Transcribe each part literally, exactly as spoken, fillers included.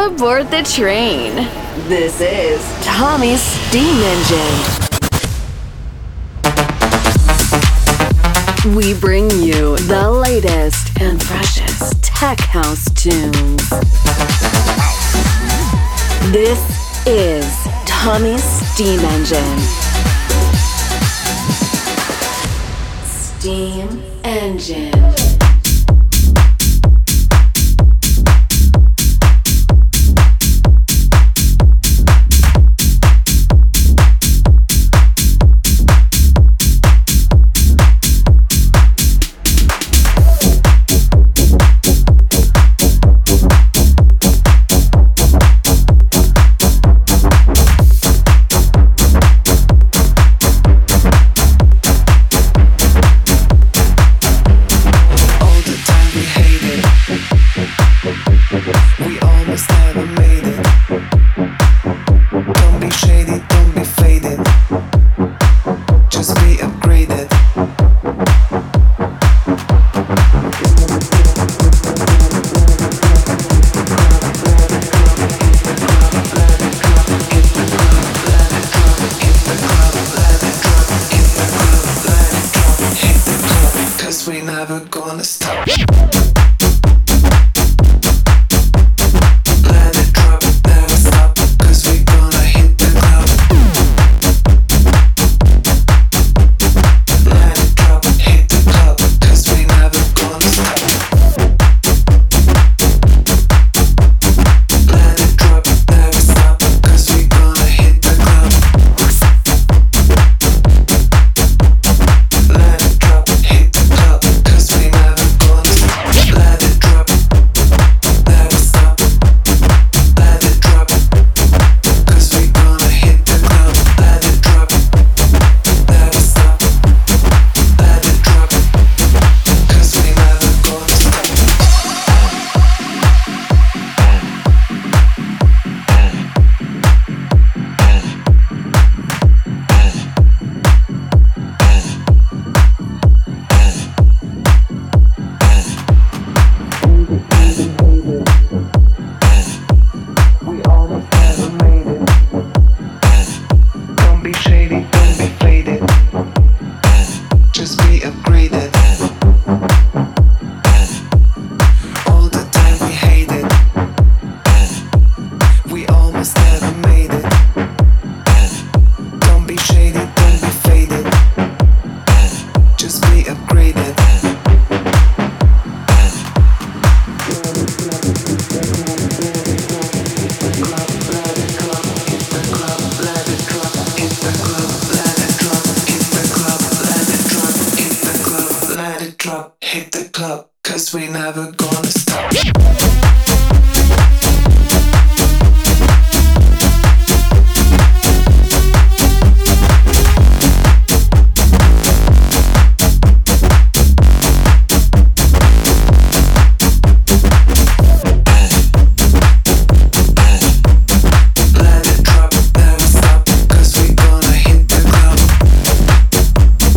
aboard the train. This is Tommy's Steam Engine. We bring you the latest and freshest tech house tunes. This is Tommy's Steam Engine. Steam Engine.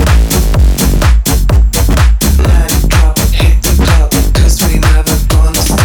Cause we never gonna stop.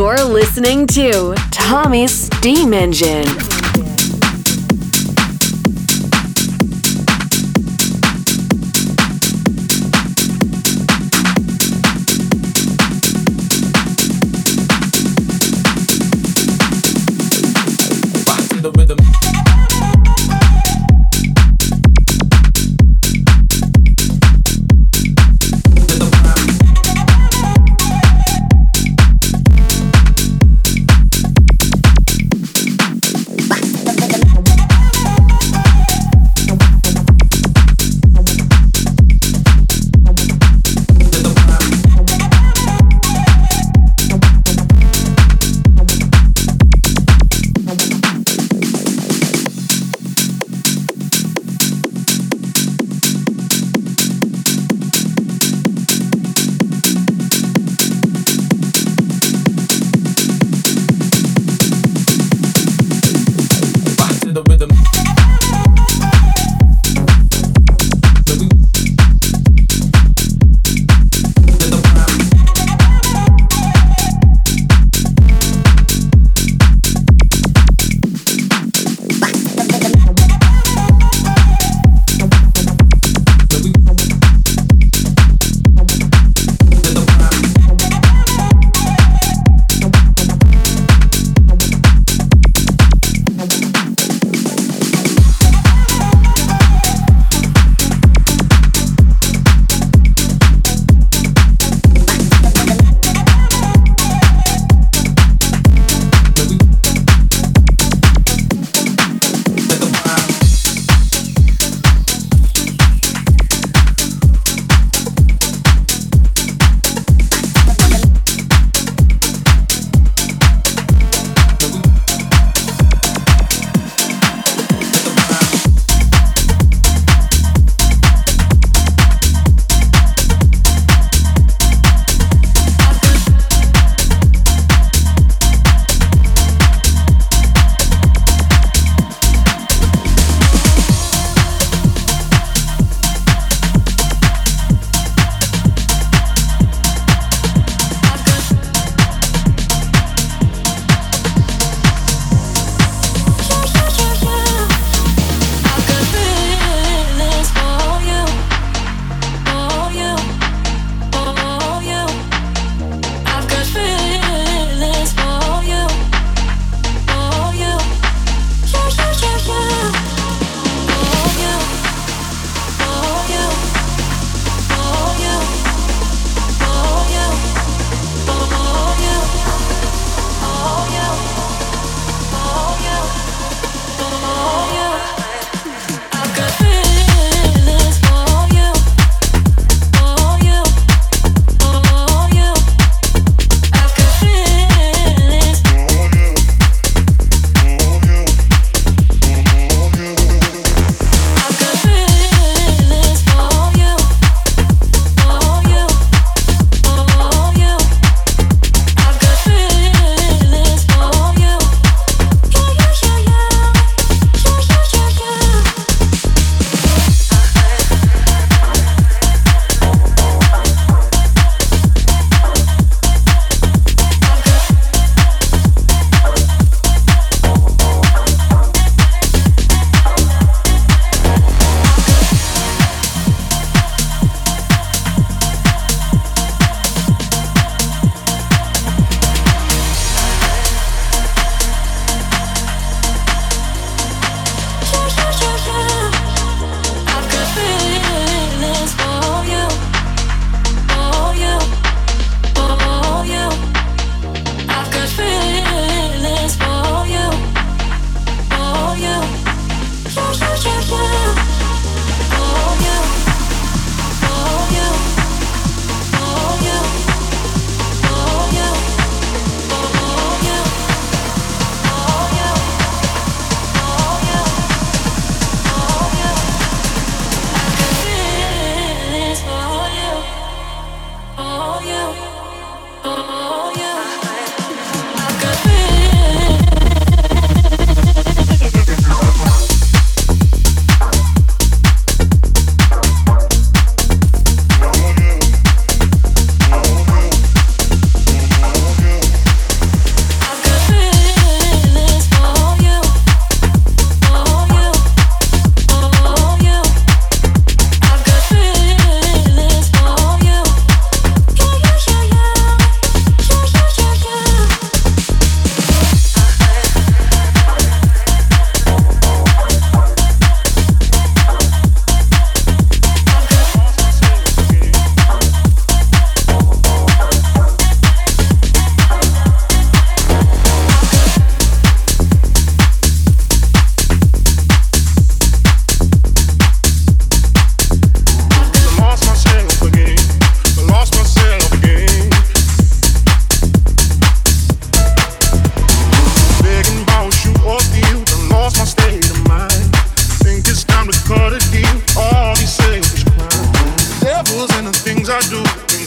You're listening to Tommy's Steam Engine.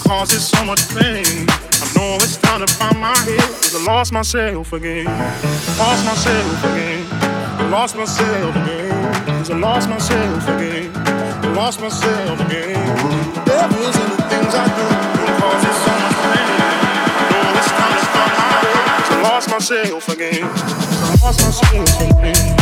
causes so much pain. I know it's time to find my head, cause I lost myself again. Lost myself again. I lost myself again. Cause I lost myself again. I lost myself again. The devil's in the things I do, it causes so much pain. I know it's time to find my head, cause I lost myself again. I lost myself again.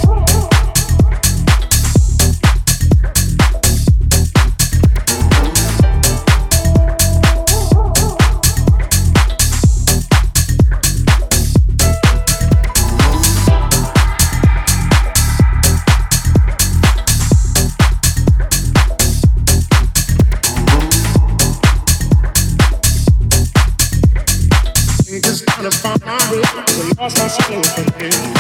To find my head, I lost myself again.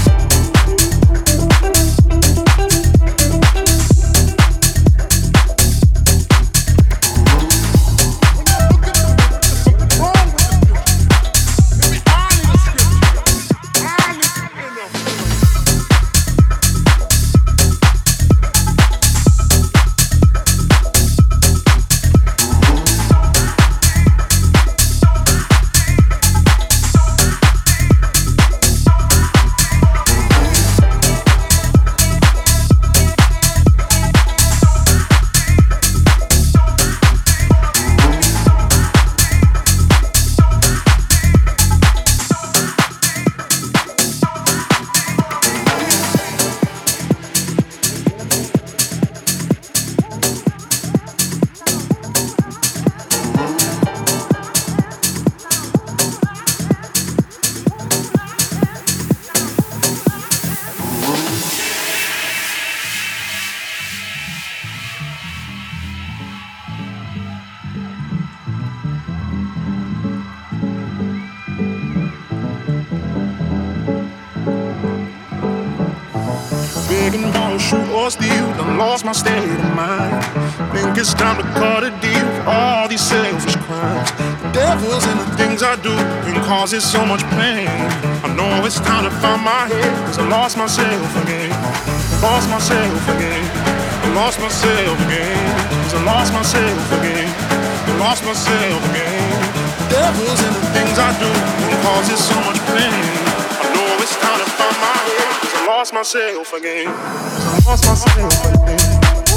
Begging for shoot or steal, done lost my state of mind. Think it's time to cut a deal for all these selfish crimes. The devil's in the things I do and causes so much pain. I know it's time to find my head, cause I lost myself again. Lost myself again. I lost myself again. Cause I lost myself again. I lost myself again. The devil's in the things I do and causes so much pain. I know it's time to find my head, cause I lost myself again. I lost myself again.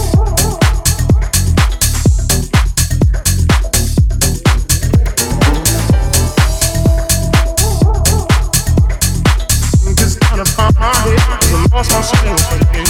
It's time to find my head, cause I lost myself again.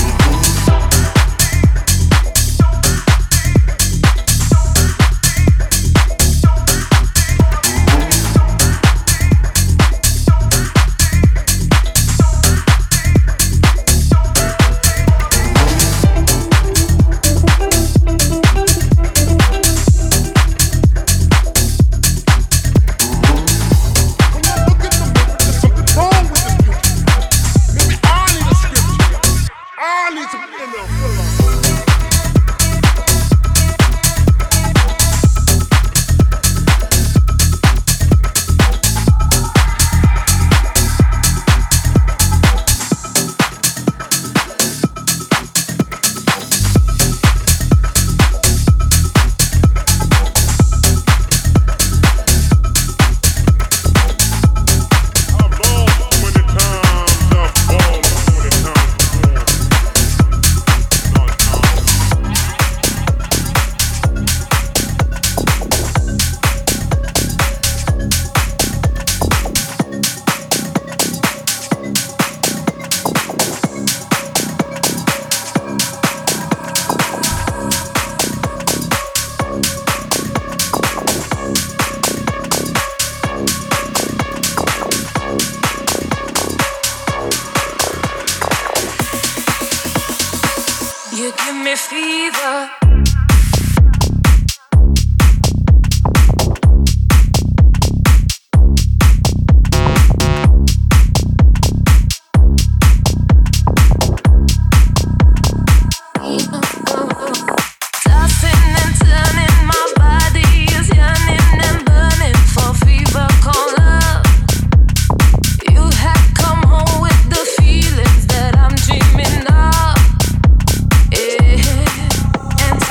And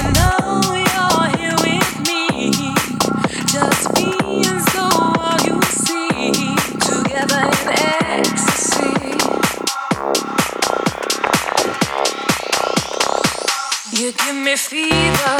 You give me fever.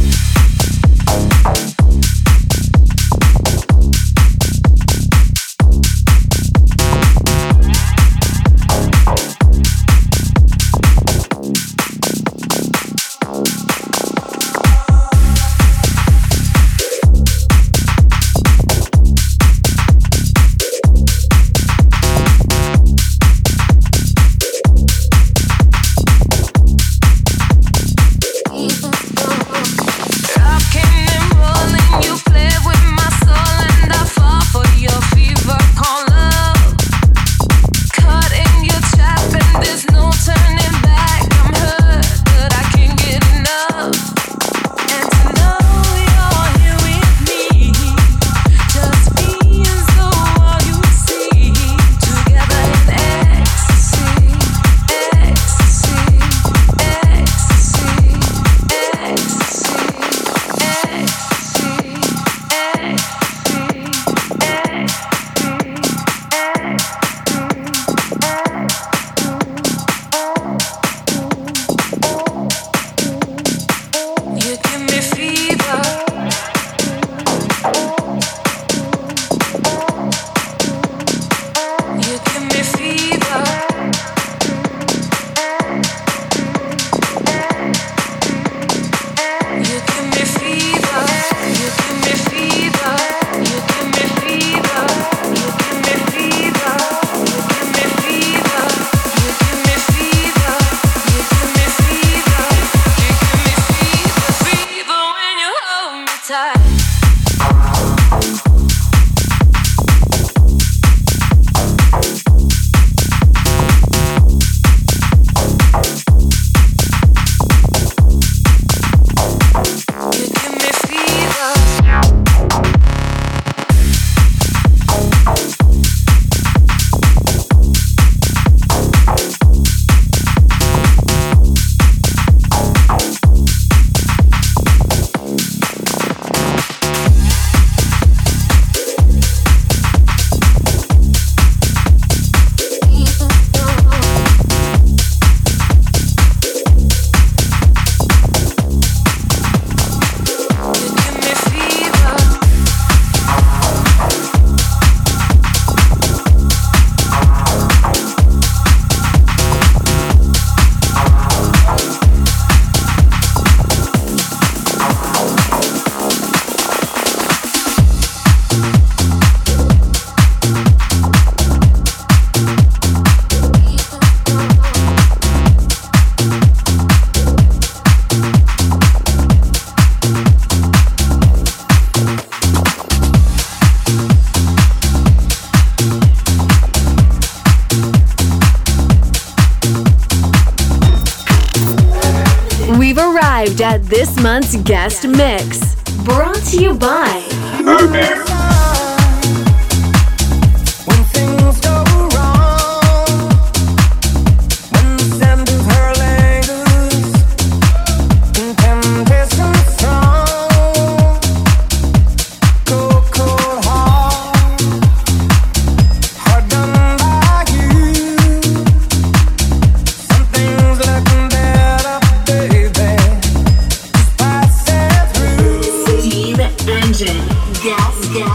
At this month's guest mix, brought to you by Urban. Gas, gas.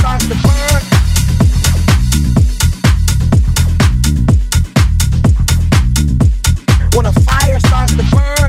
starts to burn, when a fire starts to burn,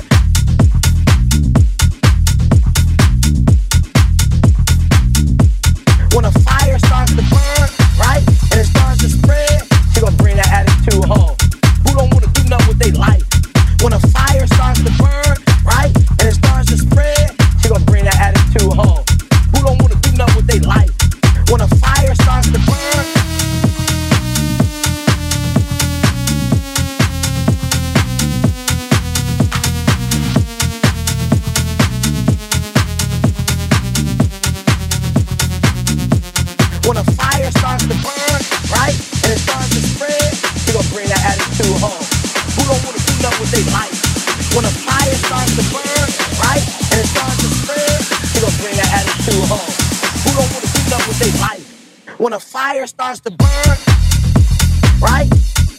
when a fire starts to burn, right, and it starts to spread, she gonna bring that attitude home. Who don't wanna do nothing with their life? When a fire starts to burn, right, and it starts to spread, she gonna bring that attitude home. Who don't wanna do nothing with their life? When a fire starts to burn, when a fire starts to burn, right, and it starts to spread, she gonna bring that attitude home. Who don't wanna do nothing with their life? When a fire starts to burn, right, and it starts to spread, she gonna bring that attitude home. Who don't wanna do nothing with their life? When a fire starts to burn, right?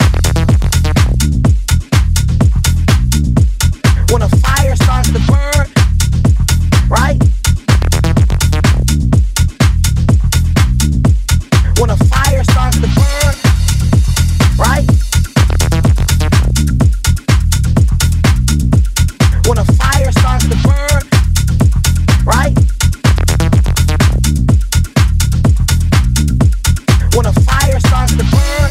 When a fire starts to burn, right? When a fire starts to burn, right? When a fire starts to burn, right? When a fire starts to burn,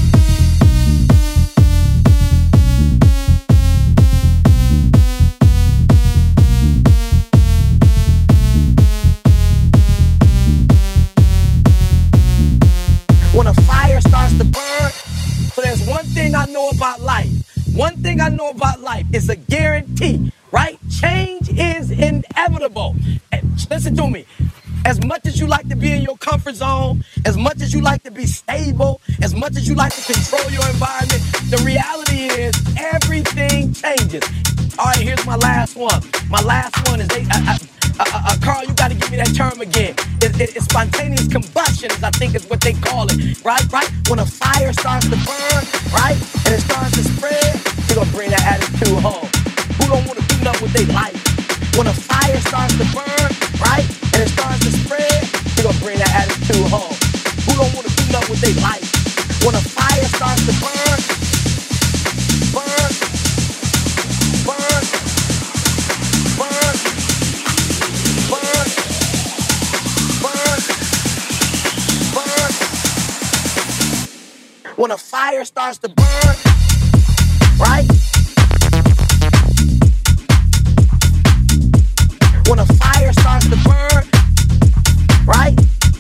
when a fire starts to burn. So there's one thing I know about life. One thing I know about life is a guarantee, right? Change is inevitable. And listen to me. As much as you like to be in your comfort zone, as much as you like to be stable, as much as you like to control your environment, the reality is everything changes. All right, here's my last one. My last one is, they, uh, uh, uh, uh, Carl, you got to give me that term again. It, it, it's spontaneous combustion, I think is what they call it, right? Right? When a fire starts to burn, right, and it starts to spread, you're going to bring that attitude home. Who don't want to do nothing with their life? When a fire starts to burn, right, and it starts to spread, you're going to bring that attitude home. Who don't want to do nothing with their life? When a fire starts to burn, burn, burn, burn, burn, burn, burn. When a fire starts to burn, right? When a fire starts to burn, right?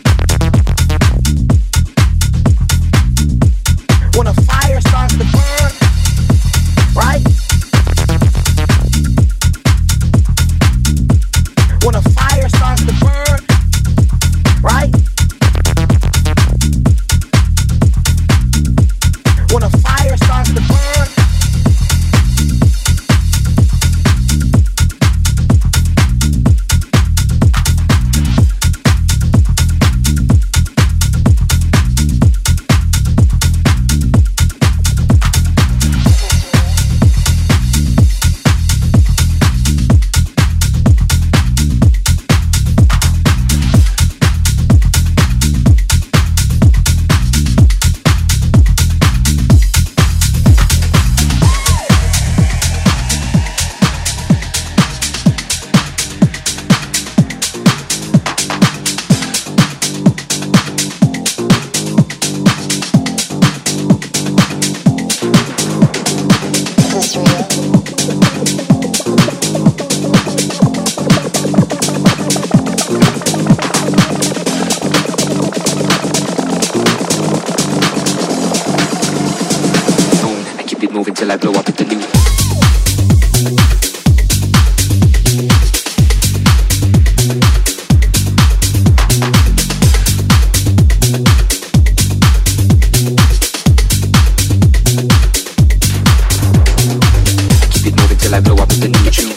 When a fire starts to burn, right? When a fire starts to burn, right? When a fire starts to burn, till I blow up at the new. Keep it moving till I blow up at the new tune.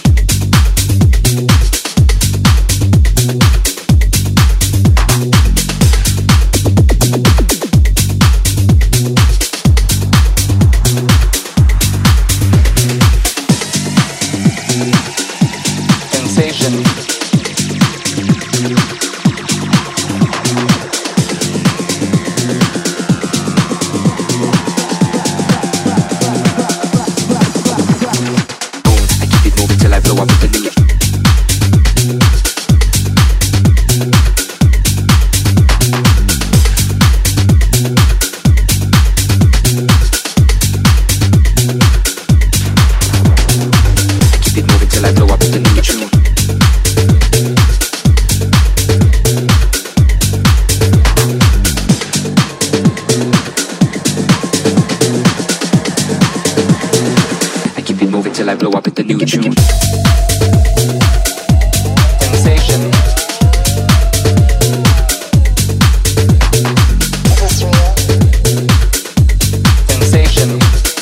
till I blow up with the new tune. Sensation. Is this real? Sensation.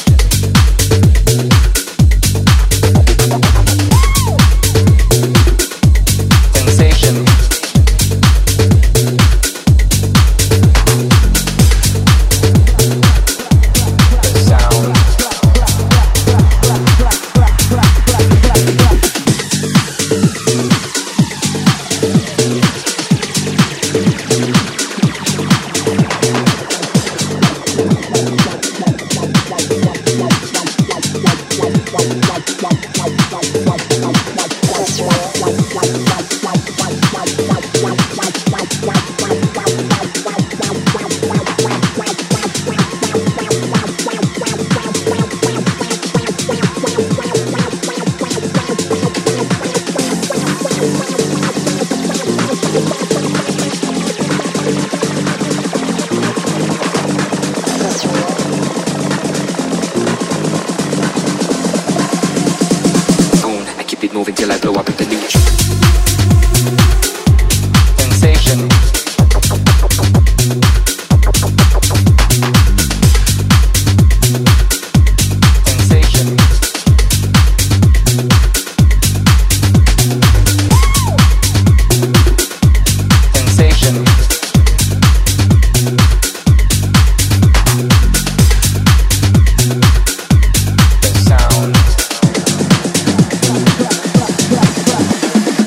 Sensation. The sound. Moving till I blow up with the new sensation. Sensation. Sensation. The sound.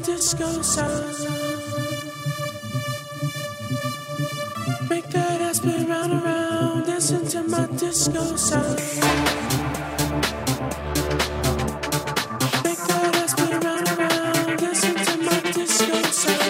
disco sound. Make that ass spin round and round, dancing to my disco sound. Make that ass spin round and round, dancing to my disco sound.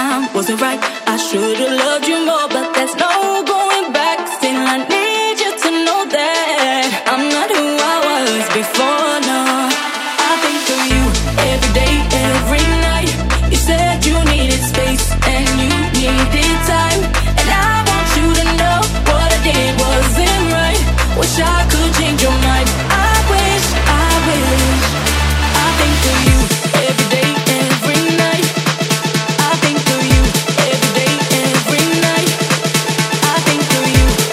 time wasn't right. I should've loved you more, but there's no going back. Still, I need you to know that I'm not who I was before, no. I think of you every day, every night. You said you needed space and you needed time, and I want you to know what I did wasn't right. Wish I could change your mind. I wish, I wish. I think of you every day, every night. I think of you every day, every night. I think of you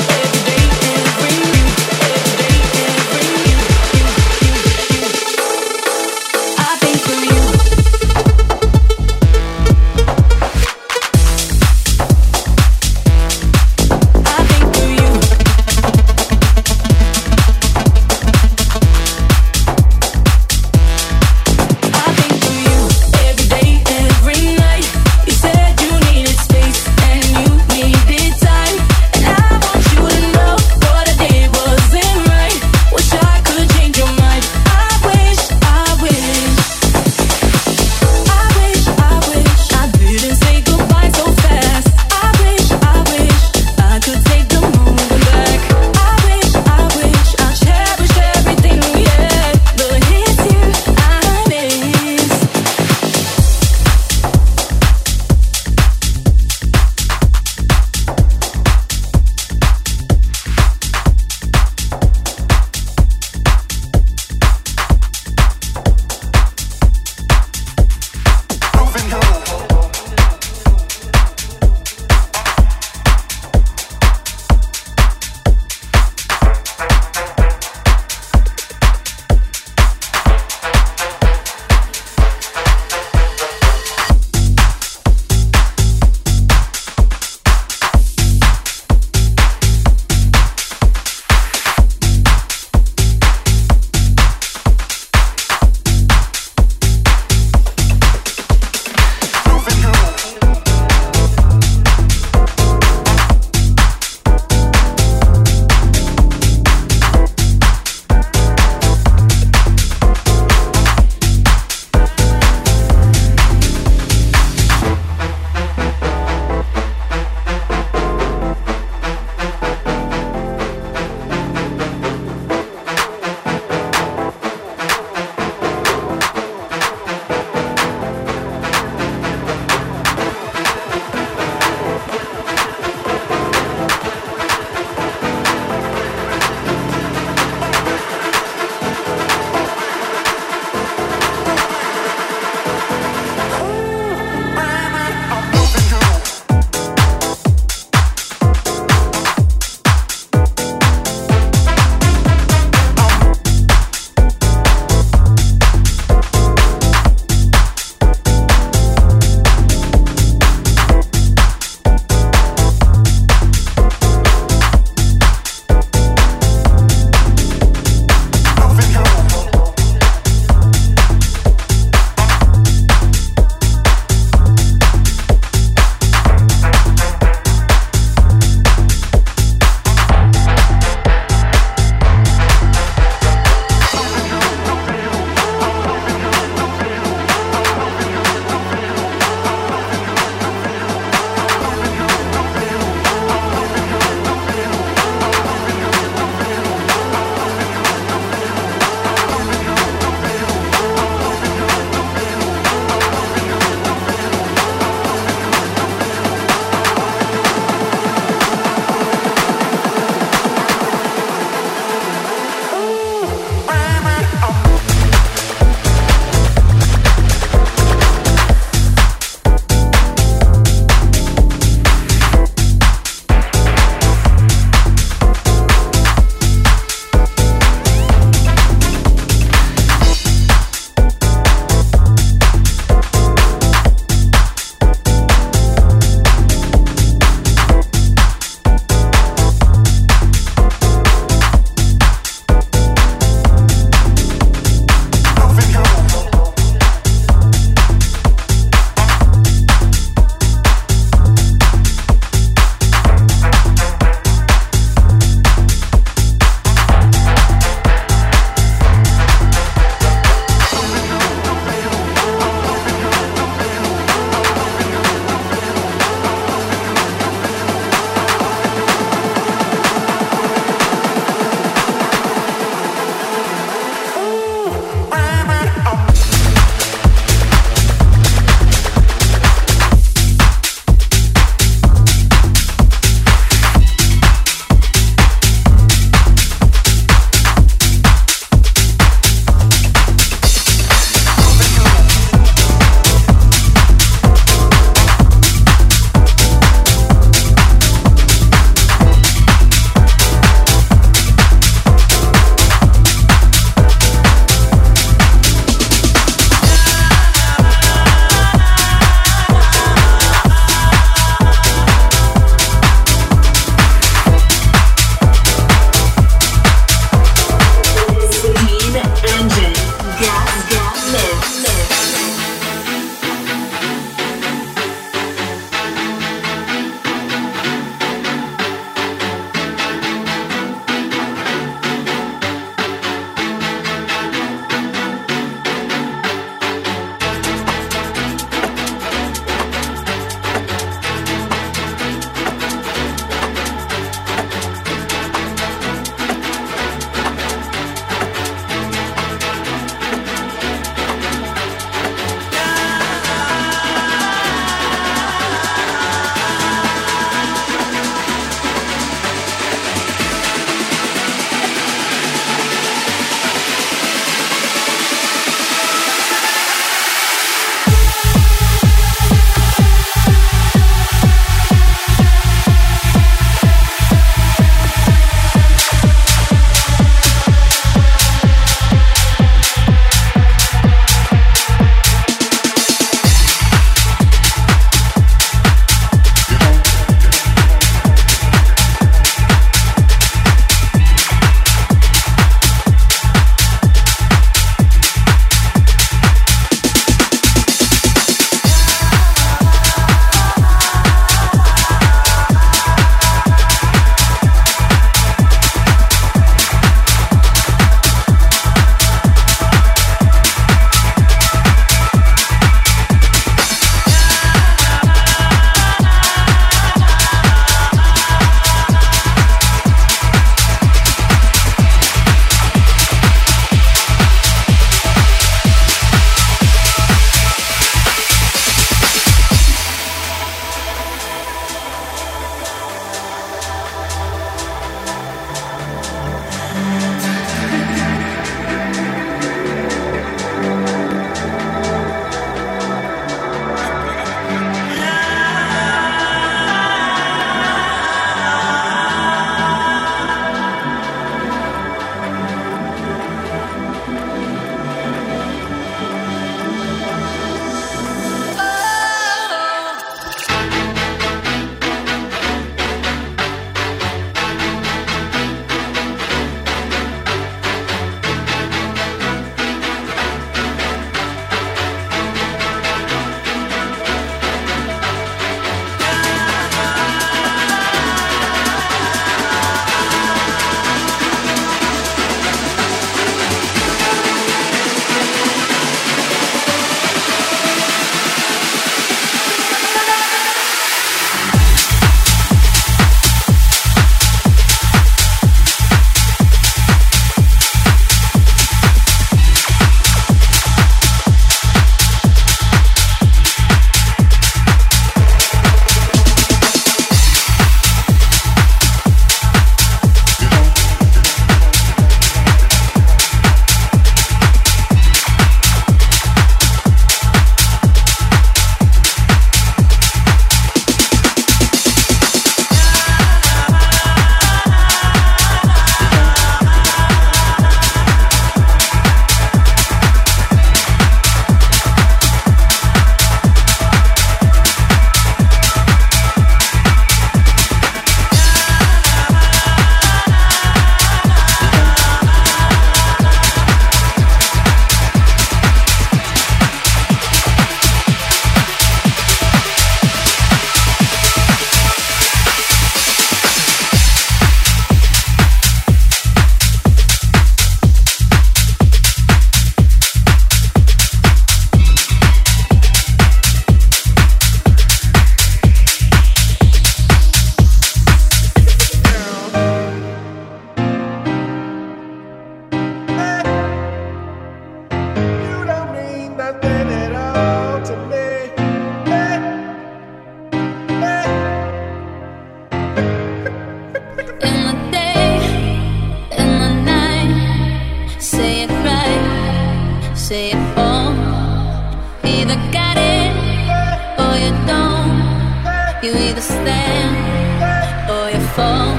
You either stand or you fall.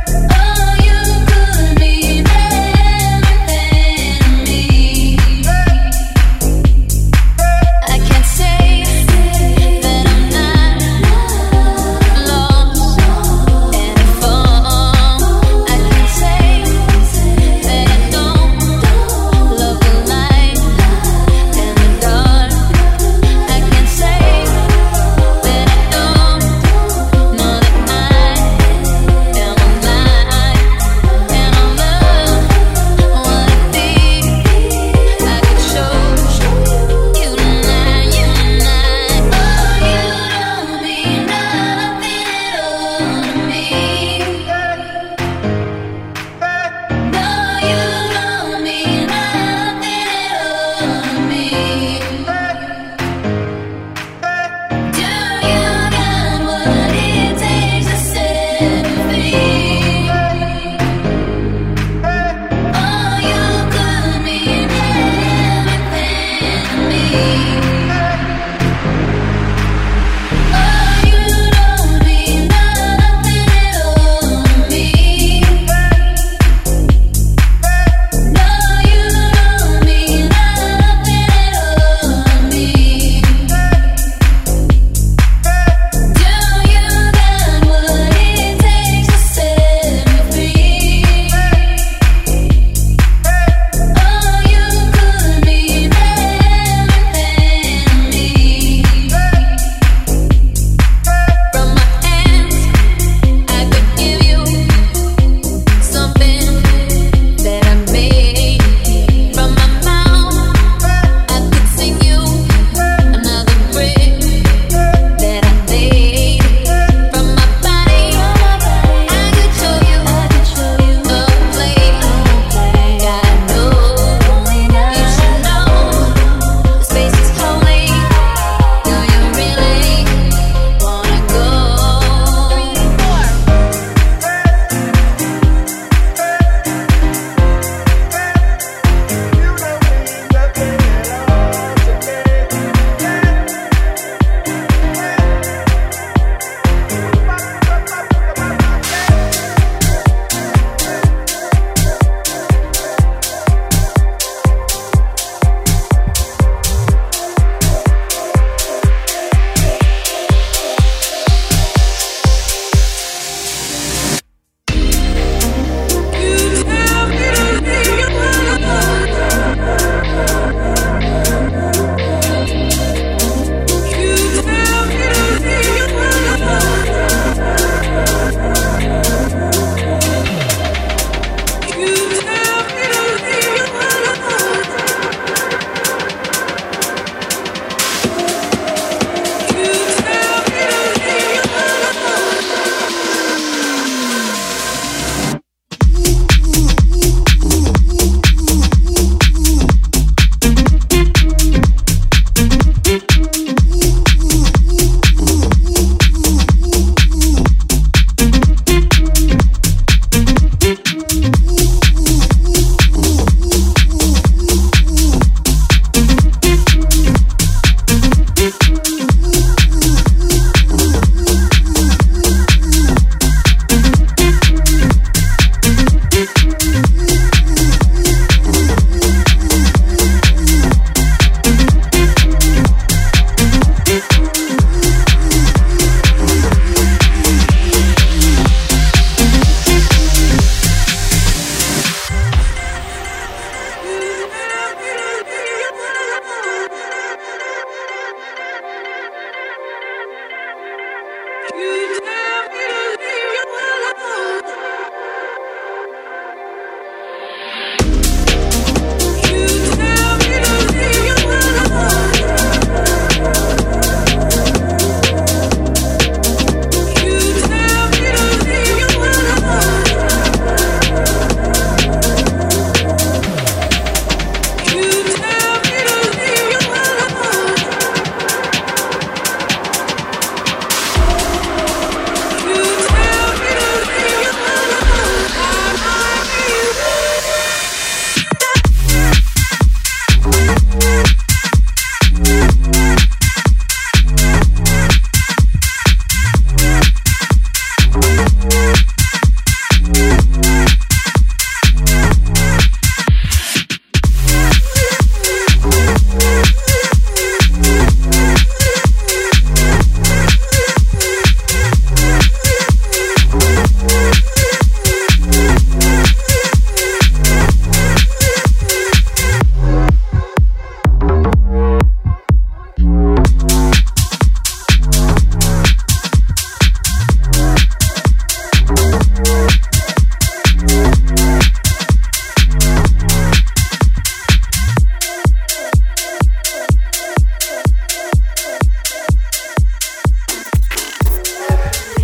Hey!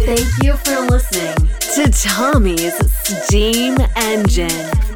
Thank you for listening to Tommy's Steam Engine.